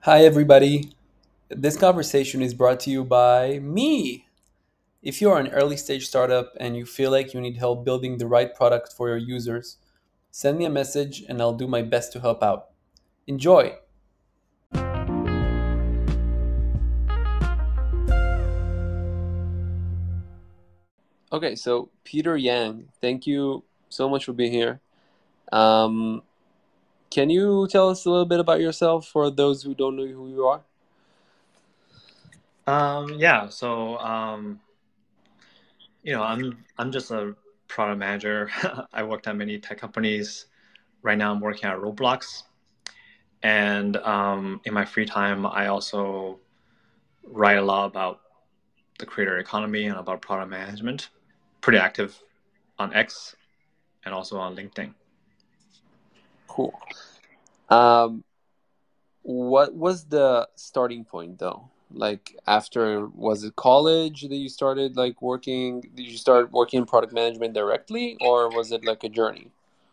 Hi, everybody. This conversation is brought to you by me. If you are an early stage startup and you feel like you need help building the right product for your users, send me a message and I'll do my best to help out. Enjoy! Okay, so Peter Yang, thank you so much for being here. Um, can you tell us a little bit about yourself for those who don't know who you are? Yeah, so I'm just a product manager. I worked at many tech companies. Right now, I'm working at Roblox, and in my free time, I also write a lot about the creator economy and about product management. Pretty active on X and also on LinkedIn. Cool. Um, What was the starting point though? Like after, was it college that you started like working? Did you start working in product management directly, or was it like a journey?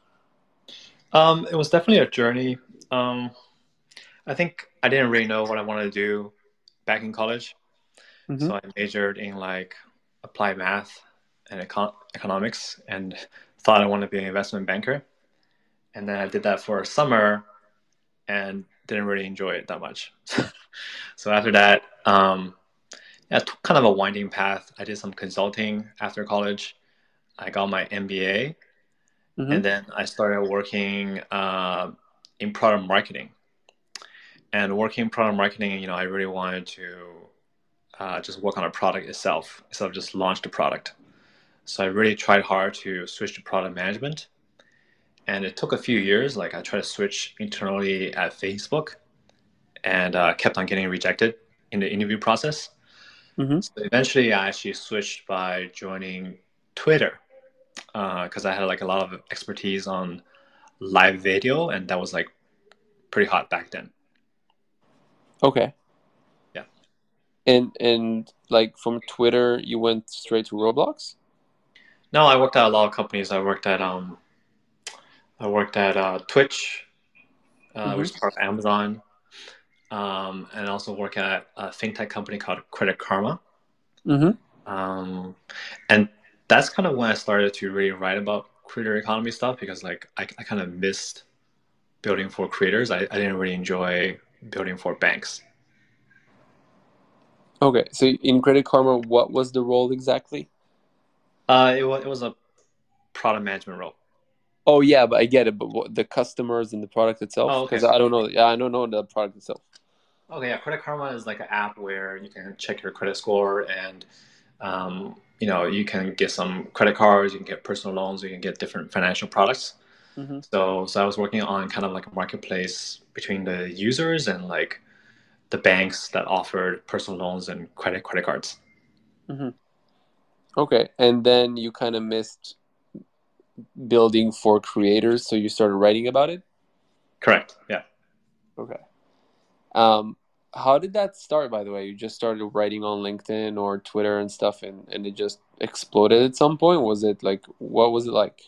It was definitely a journey. Um, I think I didn't really know what I wanted to do back in college, Mm-hmm. so I majored in like applied math and economics, and thought I wanted to be an investment banker. And then I did that for a summer and didn't really enjoy it that much. So after that, yeah, it took kind of a winding path. I did some consulting after college. I got my MBA, and Mm-hmm. then I started working in product marketing. And working in product marketing, I really wanted to just work on a product itself instead of just launch the product. So I really tried hard to switch to product management. And it took a few years. Like I tried to switch internally at Facebook, and kept on getting rejected in the interview process. Mm-hmm. So eventually, I actually switched by joining Twitter because I had like a lot of expertise on live video, and that was like pretty hot back then. Okay. Yeah. And like from Twitter, you went straight to Roblox? No, I worked at a lot of companies. I worked at Twitch, which is Mm-hmm. part of Amazon, and also work at a fintech company called Credit Karma. Mm-hmm. Um, and that's kind of when I started to really write about creator economy stuff because like I kind of missed building for creators. I didn't really enjoy building for banks. Okay. So in Credit Karma, what was the role exactly? It was a product management role. Oh yeah, but I get it. But what, the customers and the product itself? Oh, Because okay. I don't know. Yeah, I don't know the product itself. Okay, yeah. Credit Karma is like an app where you can check your credit score and you can get some credit cards, you can get personal loans, you can get different financial products. Mm-hmm. So I was working on kind of like a marketplace between the users and like the banks that offered personal loans and credit cards. Mm-hmm. Okay. And then you kind of missed building for creators, so you started writing about it. Correct. Yeah. Okay. Um, how did that start, by the way? You just started writing on LinkedIn or Twitter and stuff, and it just exploded at some point? Was it like, what was it like?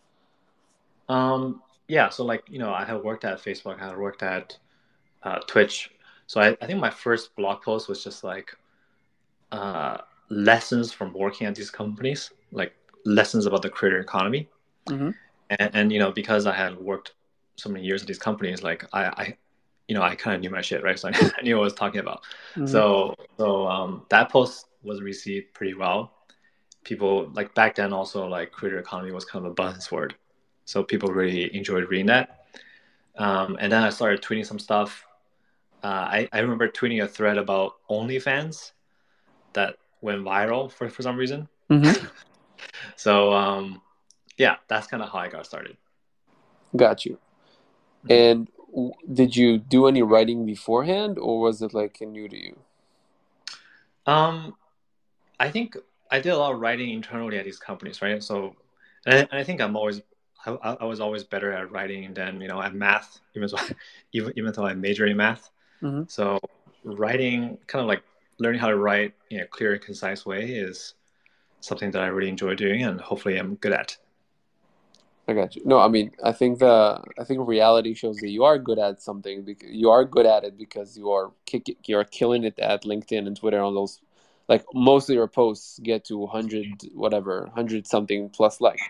Yeah. So like I had worked at Facebook, I had worked at Twitch. So I think my first blog post was just like uh, lessons from working at these companies, like lessons about the creator economy. Mm-hmm. And because I had worked so many years at these companies, like I kind of knew my shit, right? So I knew what I was talking about. Mm-hmm. So that post was received pretty well. People like back then also like creator economy was kind of a buzzword, so people really enjoyed reading that. And then I started tweeting some stuff. I remember tweeting a thread about OnlyFans that went viral for some reason. Mm-hmm. So yeah, that's kind of how I got started. Got you. Mhm. And did you do any writing beforehand, or was it like new to you? Um, I think I did a lot of writing internally at these companies, right? And I think I was always better at writing than at math, even though even though I major in math. Mm-hmm. So writing, kind of like learning how to write in a clear and concise way, is something that I really enjoy doing, and hopefully I'm good at. I got you. No, I mean, I think reality shows that you are good at something because you are good at it because you are killing it at LinkedIn and Twitter on those. Like most of your posts get to 100 whatever, 100 something plus like.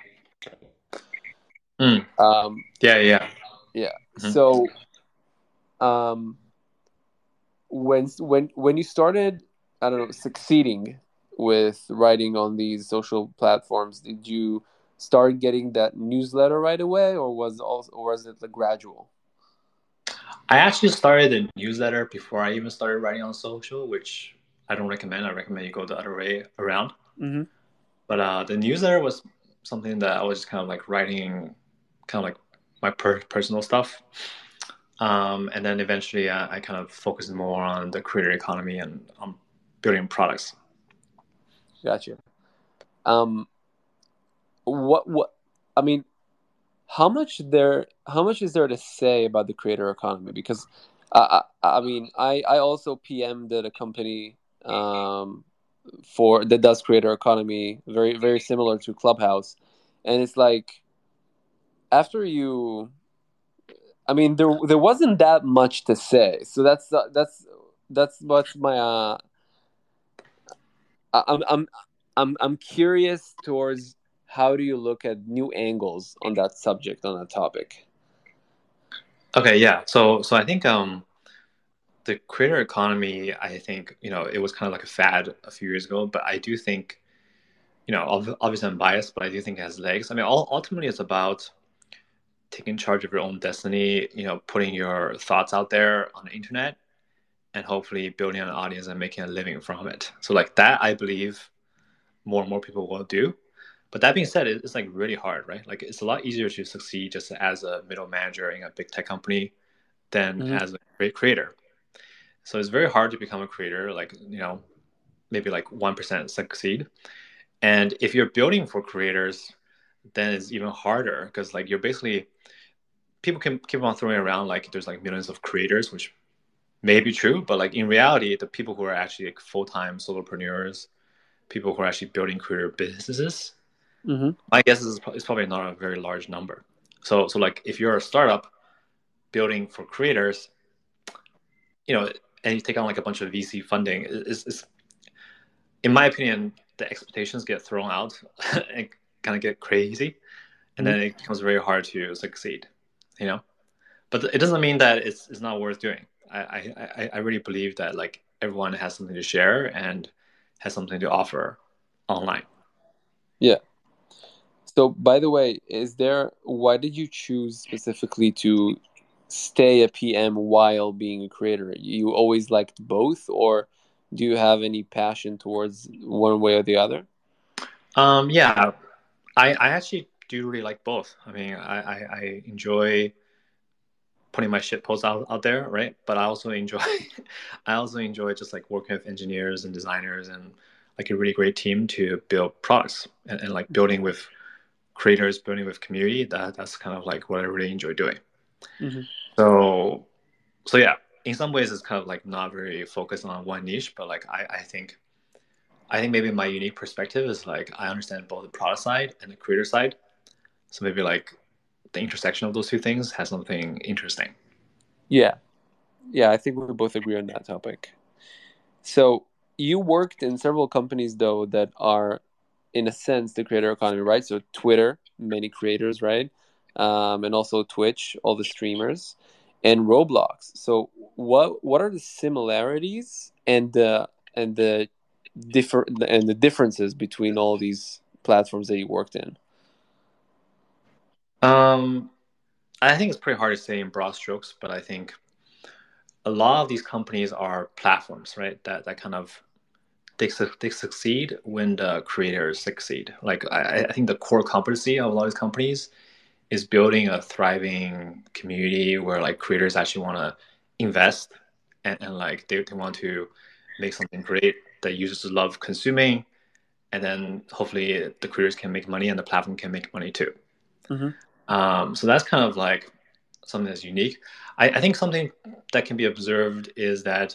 Mm. Um, Yeah, yeah. yeah. Hmm. So um, when you started, I don't know, succeeding with writing on these social platforms, did you start getting that newsletter right away, or was it like gradual? I actually started a newsletter before I even started writing on social, which I don't recommend. I recommend you go the other way around. Mm-hmm. But the newsletter was something that I was just kind of like writing, kind of like my personal stuff. And then eventually I kind of focused more on the creator economy and building products. Gotcha. Um, what I mean, how much is there to say about the creator economy? Because I mean, I also PM'd at a company for that does creator economy, very similar to Clubhouse, and it's like after you, I mean, there wasn't that much to say, so that's what's my I- I'm I'm I'm curious towards how do you look at new angles on that subject, on that topic. Okay, yeah. So I think the creator economy, I think, it was kind of like a fad a few years ago, but I do think, obviously I'm biased, but I do think it has legs. I mean, ultimately it's about taking charge of your own destiny, putting your thoughts out there on the internet and hopefully building an audience and making a living from it. So like that, I believe more and more people will do. But that being said, it's like really hard, right? Like it's a lot easier to succeed just as a middle manager in a big tech company than Mm-hmm. as a great creator. So it's very hard to become a creator, like, maybe like 1% succeed. And if you're building for creators, then it's even harder because like you're basically, people can keep on throwing around like there's like millions of creators, which may be true, but like in reality, the people who are actually like full-time solopreneurs, people who are actually building career businesses, Mm-hmm. my guess is it's probably not a very large number. So like if you're a startup building for creators, you know, and you take on like a bunch of VC funding, is in my opinion, the expectations get thrown out and kind of get crazy, and Mm-hmm. then it becomes very hard to succeed, you know. But it doesn't mean that it's not worth doing. I really believe that like everyone has something to share and has something to offer online. Yeah. So, by the way, why did you choose specifically to stay a PM while being a creator? You always liked both, or do you have any passion towards one way or the other? Yeah, I actually do really like both. I mean, I enjoy putting my shit posts out there, right? But I also enjoy I also enjoy just like working with engineers and designers and like a really great team to build products and like building with creators, building with community. That's kind of like what I really enjoy doing. Mm-hmm. So so yeah, in some ways it's kind of like not very focused on one niche, but like I think maybe my unique perspective is like I understand both the product side and the creator side. So maybe like the intersection of those two things has something interesting. Yeah, yeah, I think we both agree on that topic. So, you worked in several companies though that are, in a sense, the creator economy, right? So, Twitter, many creators, right? And also Twitch, all the streamers, and Roblox. So, what are the similarities and the differences between all these platforms that you worked in? Um, I think it's pretty hard to say in broad strokes, but I think a lot of these companies are platforms, right? That kind of they succeed when the creators succeed. Like I think the core competency of a lot of these companies is building a thriving community where like creators actually want to invest and like they want to make something great that users love consuming, and then hopefully the creators can make money and the platform can make money too. Mm-hmm. So that's kind of like something that's unique. I think something that can be observed is that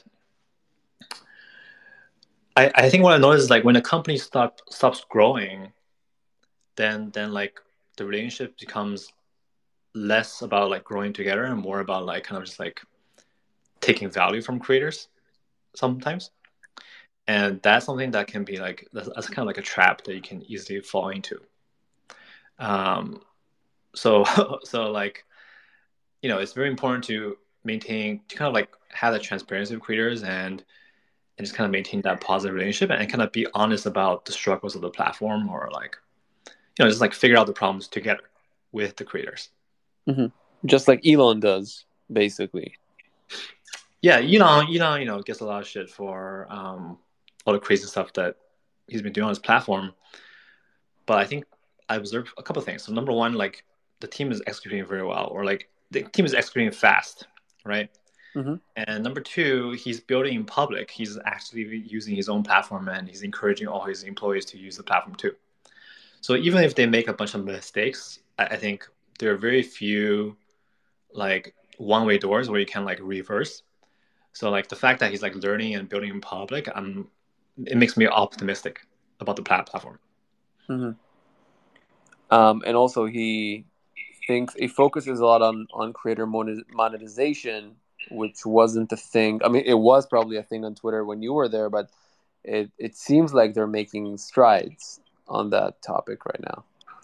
I think what I noticed is like when a company stops growing, then like the relationship becomes less about like growing together and more about like kind of just like taking value from creators sometimes. And that's something that can be like that's kind of like a trap that you can easily fall into. Um, so so like it's very important to maintain to kind of like have that transparency with creators and just kind of maintain that positive relationship and kind of be honest about the struggles of the platform or like just like figure out the problems together with the creators. Mm-hmm. Just like Elon does, basically. Yeah, gets a lot of shit for all the crazy stuff that he's been doing on his platform. But I think I observed a couple of things. So number one, like the team is executing very well, or like the team is executing fast, right? Mm-hmm. And number two, he's building in public. He's actually using his own platform and he's encouraging all his employees to use the platform too. So even if they make a bunch of mistakes, I think there are very few like one-way doors where you can like reverse. So like the fact that he's like learning and building in public, it makes me optimistic about the platform. Mm-hmm. And also he focuses a lot on creator monetization, which wasn't a thing. I mean, it was probably a thing on Twitter when you were there, but it seems like they're making strides on that topic right now.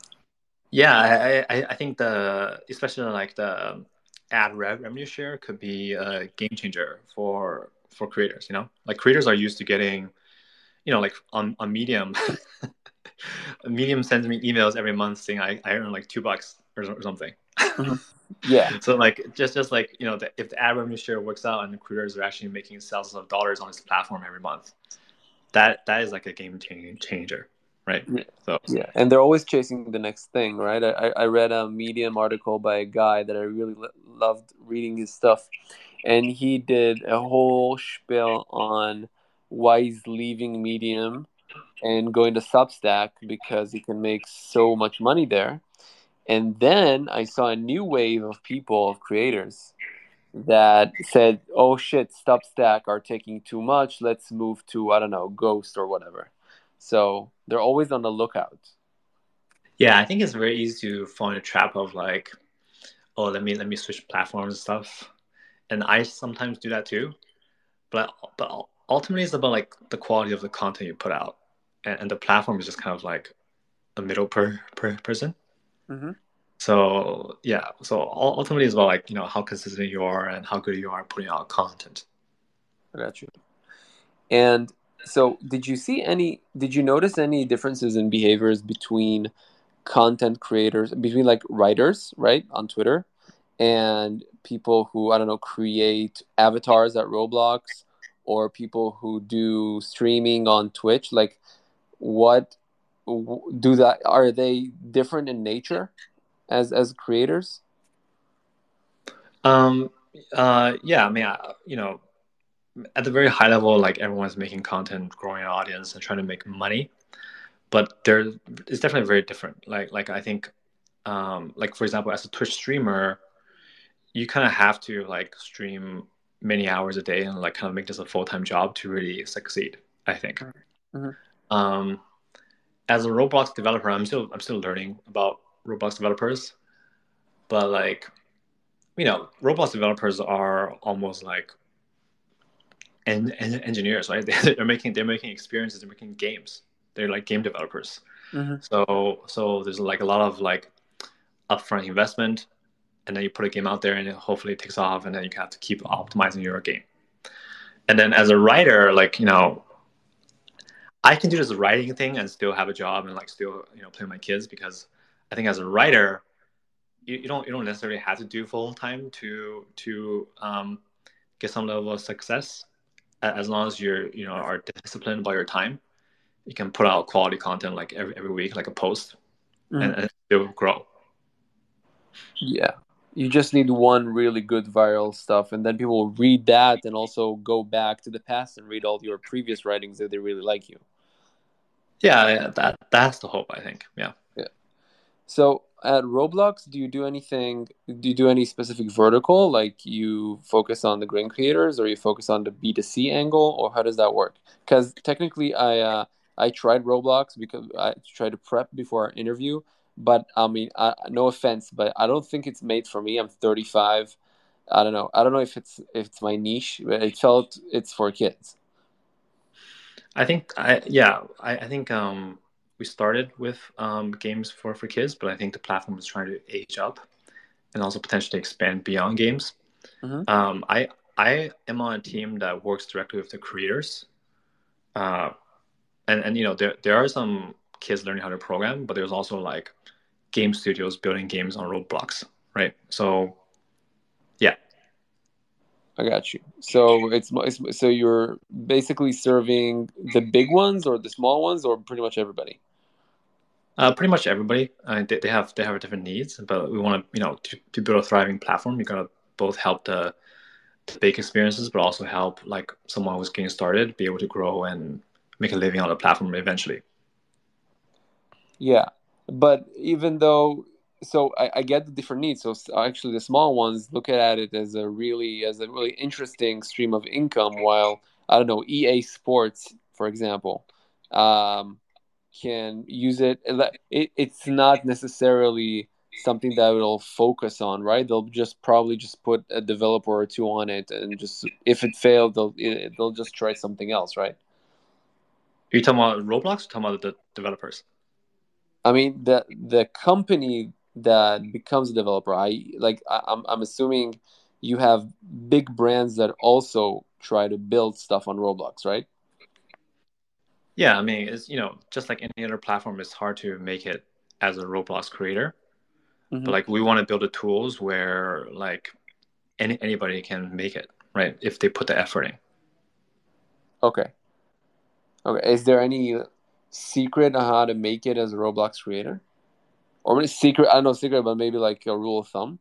Yeah, I think especially like the ad revenue share could be a game changer for creators. Like creators are used to getting, like on Medium, Medium sends me emails every month saying I earn like $2 or something. Mm-hmm. Yeah. So like just like if the ad revenue share works out and the creators are actually making thousands of dollars on this platform every month, that is like a game changer, right? Yeah. So Yeah, and they're always chasing the next thing, right? I read a Medium article by a guy that I really loved reading his stuff, and he did a whole spiel on why he's leaving Medium and going to Substack because he can make so much money there. And then I saw a new wave of people, of creators, that said, "Oh shit, Substack are taking too much. Let's move to, I don't know, Ghost or whatever." So they're always on the lookout. yeah, I think it's very easy to fall in a trap of like, oh, let me switch platforms and stuff, and I sometimes do that too. But ultimately, it's about like the quality of the content you put out, and the platform is just kind of like a middle person. Mm-hmm. So yeah, so ultimately, it's about like how consistent you are and how good you are putting out content. I got you. And so, did you notice any differences in behaviors between content creators, between like writers, right, on Twitter, and people who, I don't know, create avatars at Roblox, or people who do streaming on Twitch? Like, what do that? Are they different in nature as creators? Um, yeah, I mean, at the very high level, like everyone's making content, growing an audience, and trying to make money. But it's definitely very different. Like I think, like for example, as a Twitch streamer, you kind of have to like stream many hours a day and like kind of make this a full-time job to really succeed, I think. Mm-hmm. Um, as a Roblox developer, I'm still learning about Roblox developers, but like Roblox developers are almost like engineers, right? They're making experiences, they're making games. They're like game developers. Mm-hmm. So there's like a lot of like upfront investment, and then you put a game out there, and hopefully it takes off, and then you have to keep optimizing your game. And then as a writer, like I can do this writing thing and still have a job and like still play with my kids, because I think as a writer, you don't necessarily have to do full time to get some level of success. As long as you're are disciplined about your time, you can put out quality content like every week, like a post, Mm-hmm. and it will grow. Yeah. You just need one really good viral stuff, and then people will read that and also go back to the past and read all your previous writings if they really like you. Yeah, that's the hope, I think. Yeah. Yeah. So at Roblox, do you do any specific vertical? Like you focus on the grain creators, or you focus on the B2C angle, or how does that work? Because technically I tried Roblox because I tried to prep before our interview, but I mean, no offense, but I don't think it's made for me. I'm 35. I don't know. I don't know if it's my niche, but it felt it's for kids. I think I think we started with games for kids, but I think the platform is trying to age up and also potentially expand beyond games. Hmm. I am on a team that works directly with the creators, uh, and you know there are some kids learning how to program, but there's also like game studios building games on Roblox, right? So yeah, I got you. So so you're basically serving the big ones or the small ones or pretty much everybody. pretty much everybody they have different needs, but we want to to build a thriving platform. You gotta both help the big experiences, but also help like someone who's getting started be able to grow and make a living on the platform eventually. Yeah, but even though, so I get the different needs. So actually, the small ones look at it as a really interesting stream of income. While I don't know, EA Sports, for example, um, can use it. It's not necessarily something that it'll focus on, right? They'll just probably just put a developer or two on it, and just if it failed, they'll just try something else, right? Are you talking about Roblox or talking about the developers? I mean, the company that becomes a developer, I'm assuming you have big brands that also try to build stuff on Roblox, right? Yeah, I mean, it's just like any other platform, it's hard to make it as a Roblox creator. But Hmm. like we want to build the tools where like anybody can make it, right? If they put the effort in. Okay. Okay. Is there any secret on how to make it as a Roblox creator? Or maybe secret, I don't know secret, but maybe like a rule of thumb.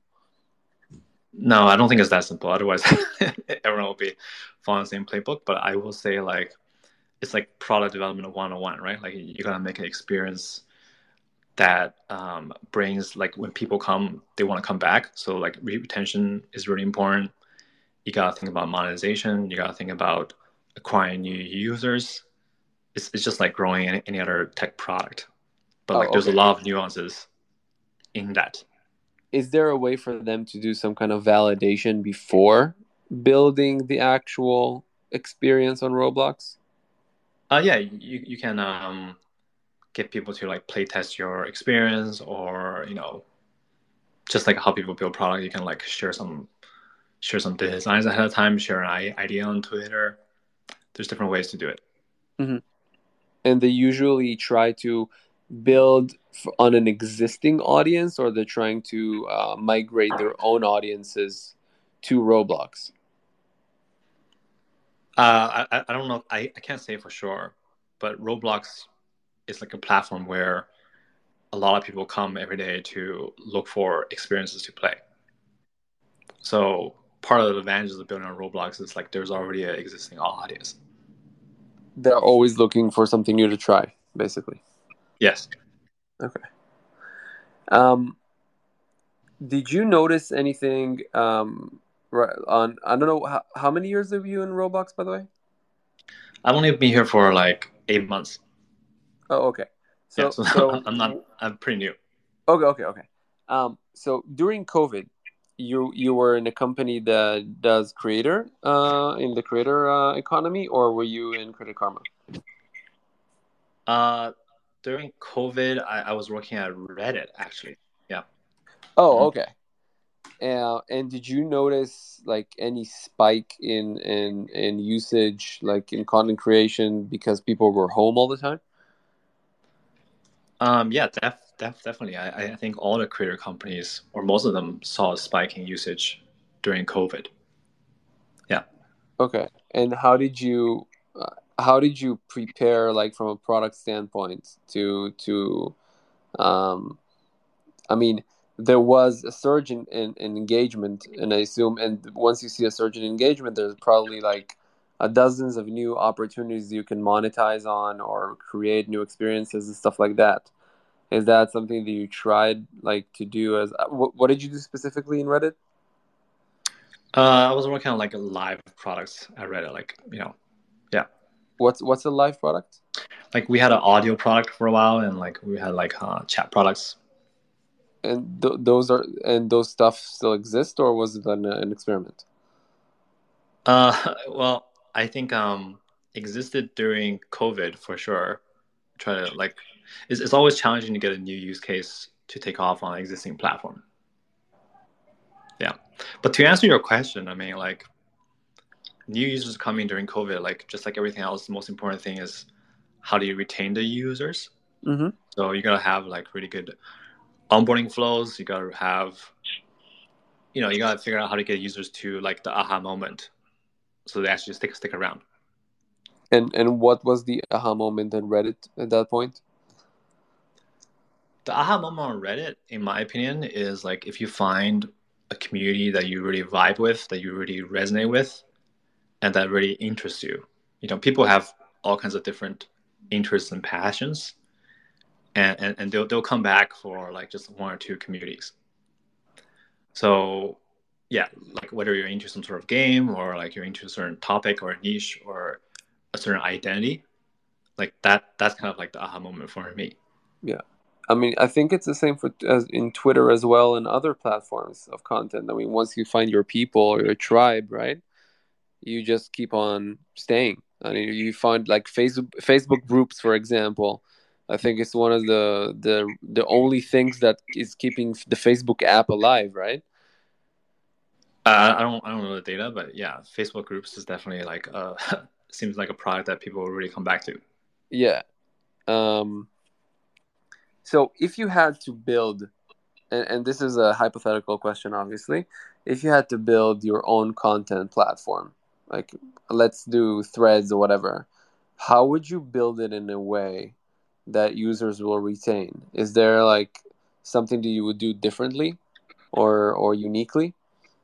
No, I don't think it's that simple. Otherwise, everyone will be following the same playbook. But I will say like it's like product development 101, right? Like you gotta make an experience that brings like when people come, they want to come back. So like retention is really important. You gotta think about monetization. You gotta think about acquiring new users. It's just like growing any other tech product, but like Oh, there's a okay. lot of nuances in that. Is there a way for them to do some kind of validation before building the actual experience on Roblox? Yeah, you can get people to like play test your experience, or just like how people build product. You can like share some designs ahead of time, share an idea on Twitter. There's different ways to do it. Hmm. And they usually try to build on an existing audience, or they're trying to migrate their own audiences to Roblox. I don't know. I can't say for sure, but Roblox is like a platform where a lot of people come every day to look for experiences to play. So part of the advantages of building on Roblox is like there's already an existing audience. They're always looking for something new to try, basically. Yes. Okay. Um, did you notice anything on? I don't know how many years have you in Roblox, by the way? I've only been here for like 8 months. Oh, okay. Yeah, So so so I'm pretty new. okay. So during COVID, you were in a company that does creator in the creator economy, or were you in Credit Karma? Uh, During COVID, I was working at Reddit actually. Yeah. Oh, Mhm. okay. And did you notice like any spike in usage, like in content creation, because people were home all the time? Yeah, definitely. I think all the creator companies, or most of them, saw a spike in usage during COVID. Yeah. Okay. And how did you prepare, like from a product standpoint, to um, I mean, there was a surge in engagement, and I assume, and once you see a surge in engagement, there's probably like dozens of new opportunities you can monetize on or create new experiences and stuff like that. Is that something that you tried like to do as what did you do specifically in Reddit? I was working on like live products at Reddit, like yeah, What's a live product? like we had an audio product for a while, and like we had like chat products. And those stuff still exist, or was it an experiment? Well, I think existed during COVID for sure. Try to like, it's always challenging to get a new use case to take off on an existing platform. Yeah, but to answer your question, I mean, like new users coming during COVID, like just like everything else, the most important thing is how do you retain the users? Mm-hmm. So you gotta have like really good onboarding flows. You gotta have, you gotta figure out how to get users to like the aha moment, so they actually stick around. And what was the aha moment on Reddit at that point? The aha moment on Reddit, in my opinion, is like if you find a community that you really vibe with, that you really resonate with, and that really interests you. People have all kinds of different interests and passions, and they'll come back for like just one or two communities. So yeah, like whether you're into some sort of game or like you're into a certain topic or a niche or a certain identity, like that's kind of like the aha moment for me. Yeah. I mean, I think it's the same as in Twitter as well and other platforms of content. I mean, once you find your people or your tribe, right, you just keep on staying. I mean, you find like Facebook groups, for example. I think it's one of the only things that is keeping the Facebook app alive, right? I don't know the data, but yeah, Facebook groups is definitely like seems like a product that people will really come back to. Yeah. Um, so if you had to build, and this is a hypothetical question, obviously, if you had to build your own content platform, like let's do Threads or whatever, how would you build it in a way that users will retain? Is there like something that you would do differently or uniquely?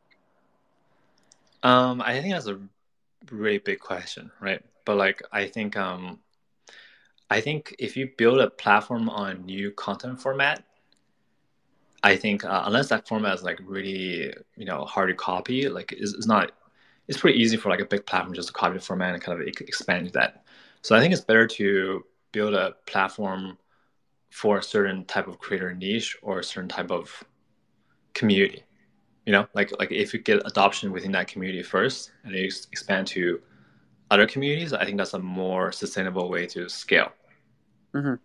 I think that's a really big question, right? But like I think if you build a platform on a new content format, I think unless that format is like really hard to copy, like it's not. It's pretty easy for like a big platform just to copy the format and kind of expand that. So I think it's better to build a platform for a certain type of creator niche or a certain type of community. Like if you get adoption within that community first and then you expand to other communities, I think that's a more sustainable way to scale. Hmm.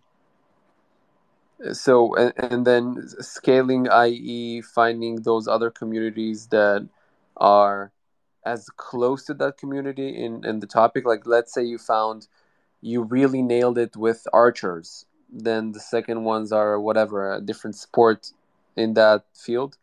So and then scaling, i.e., finding those other communities that are as close to that community in the topic. Like let's say you really nailed it with archers, then the second ones are whatever, a different sport in that field.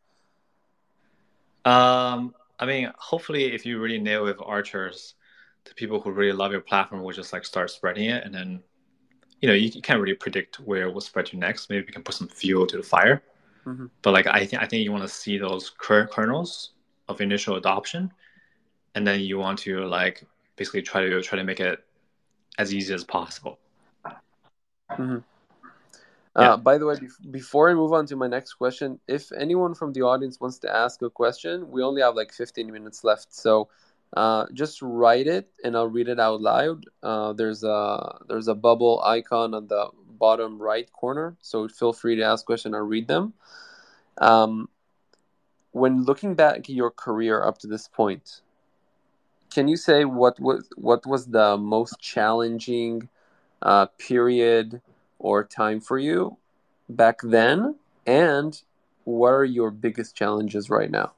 I mean, hopefully, if you really nail with archers, the people who really love your platform will just like start spreading it, and then you can't really predict where it will spread to next. Maybe we can put some fuel to the fire. Hmm. But like I think you want to see those kernels of initial adoption, and then you want to like basically try to make it as easy as possible. Hmm. Yeah. By the way, before I move on to my next question, if anyone from the audience wants to ask a question, we only have like 15 minutes left. So just write it and I'll read it out loud. There's a bubble icon on the bottom right corner. So feel free to ask questions. I'll read them. Um, when looking back at your career up to this point, can you say what was the most challenging period or time for you back then, and what are your biggest challenges right now?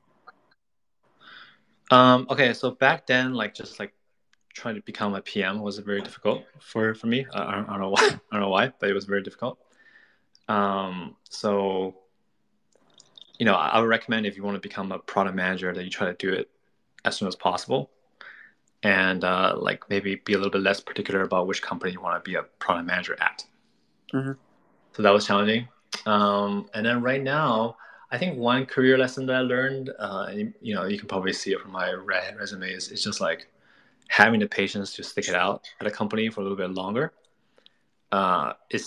Okay. So back then, like just like trying to become a PM was very difficult for me. I don't know why. I don't know why, but it was very difficult. So I would recommend if you want to become a product manager that you try to do it as soon as possible, and like maybe be a little bit less particular about which company you want to be a product manager at. Hmm. So that was challenging. And then right now, I think one career lesson that I learned, and, you can probably see it from my resume, is just like having the patience to stick it out at a company for a little bit longer. It's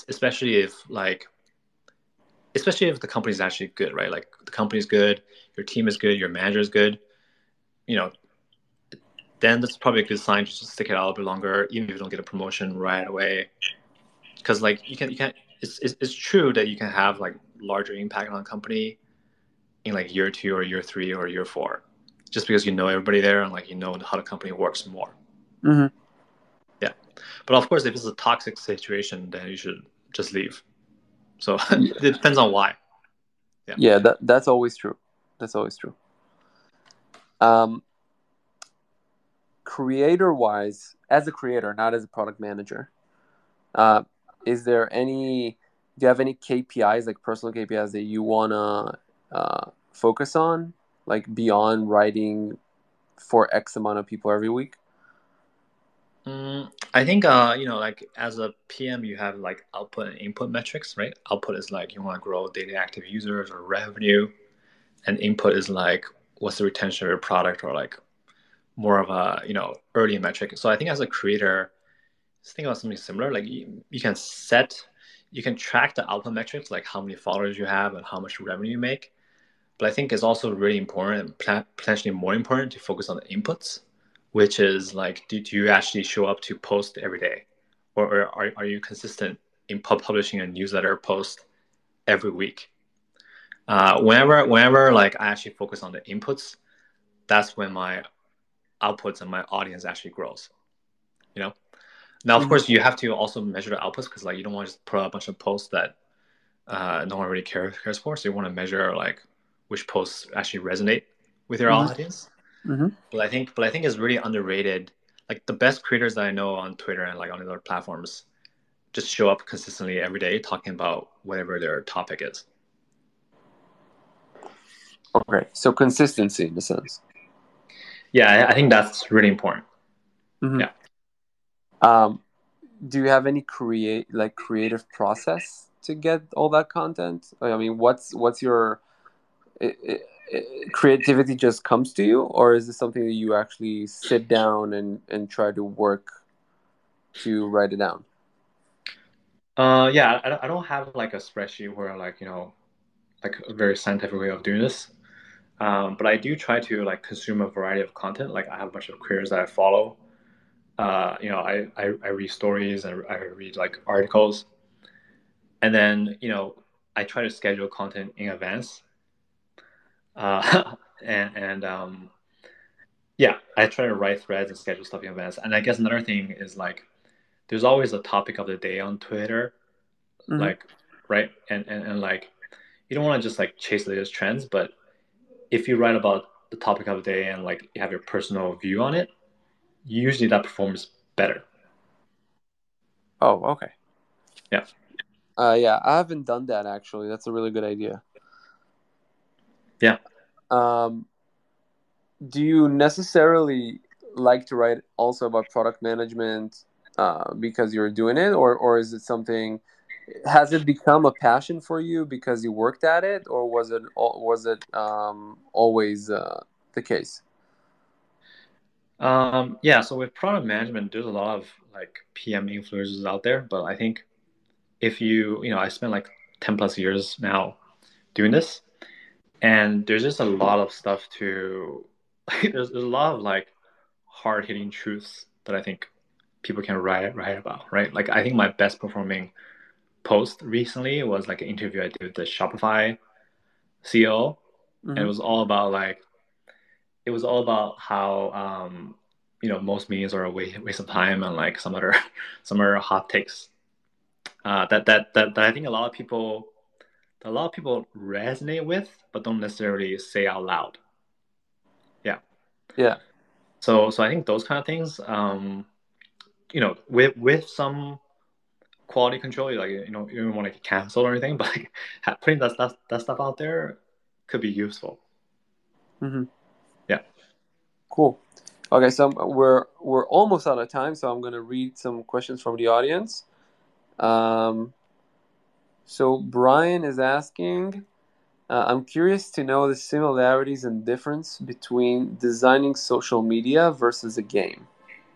especially if the company is actually good, right? Like the company is good, your team is good, your manager is good. You know, then that's probably a good sign to just stick it out a little bit longer, even if you don't get a promotion right away. Because like you can, it's true that you can have like larger impact on a company in like year 2 or year 3 or year 4, just because you know everybody there and like you know how the company works more. Mm-hmm. Yeah, but of course, if it's a toxic situation, then you should just leave. So it depends on why. Yeah. Yeah, that's always true. That's always true. Creator wise, as a creator, not as a product manager, uh, is there any? Do you have any KPIs, like personal KPIs, that you wanna focus on, like beyond writing for X amount of people every week? I think like as a PM, you have like output and input metrics, right? Output is like you want to grow daily active users or revenue, and input is like what's the retention of your product, or like more of a early metric. So I think as a creator, just think about something similar. Like you can track the output metrics, like how many followers you have and how much revenue you make. But I think it's also really important, potentially more important, to focus on the inputs, which is like, do you actually show up to post every day, or are you consistent in publishing a newsletter post every week? Whenever like I actually focus on the inputs, that's when my outputs and my audience actually grows. You know. Now, of Mm-hmm. course, you have to also measure the outputs, because like you don't want to just put out a bunch of posts that no one really cares for. So you want to measure like which posts actually resonate with your Mm-hmm. audience. Mm-hmm. But I think it's really underrated. Like the best creators that I know on Twitter and like on other platforms just show up consistently every day talking about whatever their topic is. Okay, so consistency in a sense. Yeah, I think that's really important. Mm-hmm. Yeah. Um, do you have any creative process to get all that content? I mean, what's your creativity just comes to you, or is this something that you actually sit down and try to work to write it down? Yeah, I don't have like a spreadsheet where like, like a very scientific way of doing this. But I do try to like consume a variety of content. Like I have a bunch of creators that I follow. I read stories and I read like articles, and then I try to schedule content in advance. And yeah, I try to write threads and schedule stuff in advance. And I guess another thing is like there's always a topic of the day on Twitter, Mm-hmm. like right, and like you don't want to just like chase the latest trends, but if you write about the topic of the day and like you have your personal view on it, usually that performs better. Oh, okay. Yeah. Yeah, I haven't done that actually. That's a really good idea. Yeah. Um, do you necessarily like to write also about product management because you're doing it, or is it something? Has it become a passion for you because you worked at it, or was it always the case? Yeah. So with product management, there's a lot of like PM influencers out there, but I think if I spent like 10 plus years now doing this, and there's just a lot of stuff to, there's a lot of like hard hitting truths that I think people can write about, right? Like I think my best performing post recently was like an interview I did with the Shopify CEO, and Mm-hmm. it was all about how most meetings are a waste of time, and like some other hot takes that I think a lot of people resonate with, but don't necessarily say out loud. Yeah. Yeah. So I think those kind of things, with some quality control, like you don't want to get canceled or anything, but like putting that stuff out there could be useful. Mm-hmm. Yeah. Cool. Okay, so we're almost out of time, so I'm gonna read some questions from the audience. Um, so Brian is asking, I'm curious to know the similarities and difference between designing social media versus a game.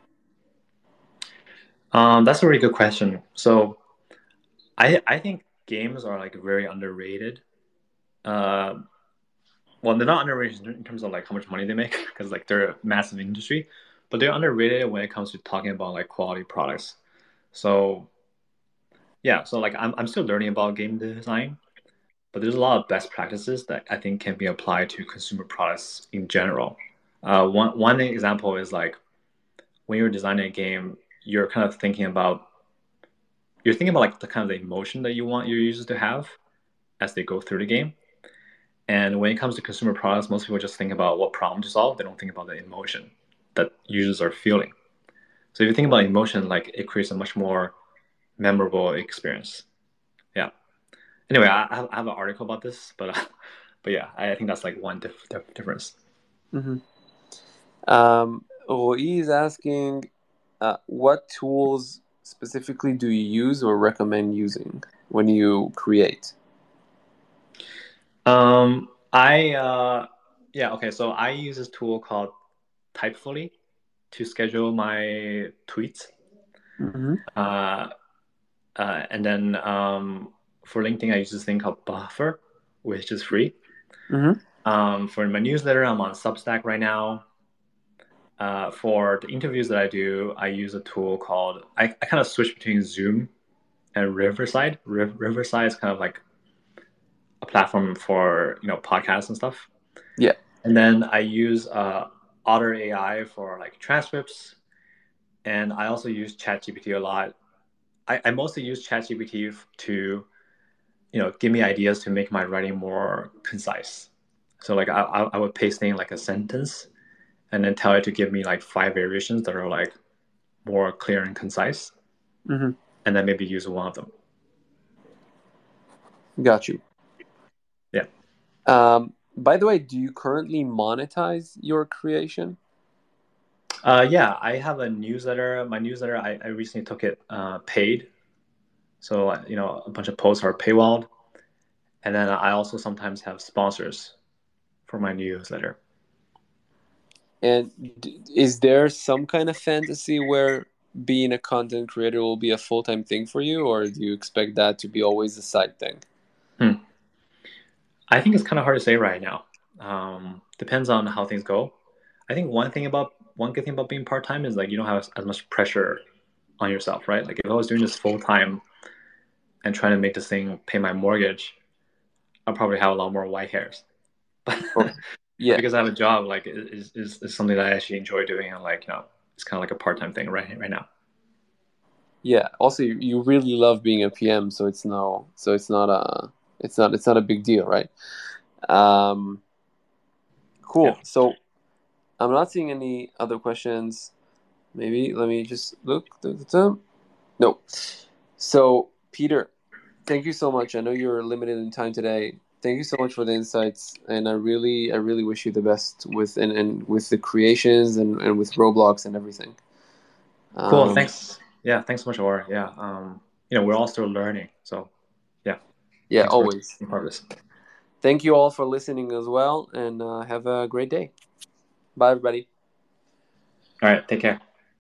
That's a really good question. So I think games are like very underrated. Uh, well, they're not underrated in terms of like how much money they make, because like they're a massive industry, but they're underrated when it comes to talking about like quality products. So yeah, so like I'm still learning about game design, but there's a lot of best practices that I think can be applied to consumer products in general. One example is like when you're designing a game, you're kind of thinking about like the kind of the emotion that you want your users to have as they go through the game. And when it comes to consumer products, most people just think about what problem to solve. They don't think about the emotion that users are feeling. So if you think about emotion, like it creates a much more memorable experience. Yeah. Anyway, I have an article about this, but yeah, I think that's like one difference. Mm-hmm. Roy is asking, what tools specifically do you use or recommend using when you create? Yeah, okay. So I use this tool called Typefully to schedule my tweets. Mm-hmm. Uh, and then for LinkedIn, I use this thing called Buffer, which is free. Mm-hmm. For my newsletter, I'm on Substack right now. For the interviews that I do, I use a tool called, I kind of switch between Zoom and Riverside. Riverside is kind of like a platform for, podcasts and stuff. Yeah. And then I use Otter AI for like transcripts. And I also use ChatGPT a lot. I mostly use ChatGPT to, give me ideas to make my writing more concise. So like I would paste in like a sentence and then tell it to give me like 5 variations that are like more clear and concise, Mm-hmm. and then maybe use one of them. Got you. Yeah. By the way, do you currently monetize your creation? Yeah, I have a newsletter. My newsletter, I recently took it paid. So, a bunch of posts are paywalled. And then I also sometimes have sponsors for my newsletter. And is there some kind of fantasy where being a content creator will be a full-time thing for you, or do you expect that to be always a side thing? I think it's kind of hard to say right now. Depends on how things go. I think one good thing about being part time is like you don't have as much pressure on yourself, right? Like if I was doing this full time and trying to make this thing pay my mortgage, I'll probably have a lot more white hairs. Oh, But yeah, because I have a job, like is something that I actually enjoy doing, and like it's kind of like a part time thing right now. yeah. Also, you really love being a PM, so it's not a big deal, right? Um, Yeah. cool. So I'm not seeing any other questions. Maybe let me just look. No. So Peter, thank you so much. I know you're limited in time today. Thank you so much for the insights, and I really wish you the best and with the creations and with Roblox and everything. Cool. Um, Thanks. Yeah. Thanks so much, Or. Yeah. We're all still learning. So yeah. yeah, Thanks for always. being part of this. Thank you all for listening as well, and have a great day. Bye, everybody. All right. Take care.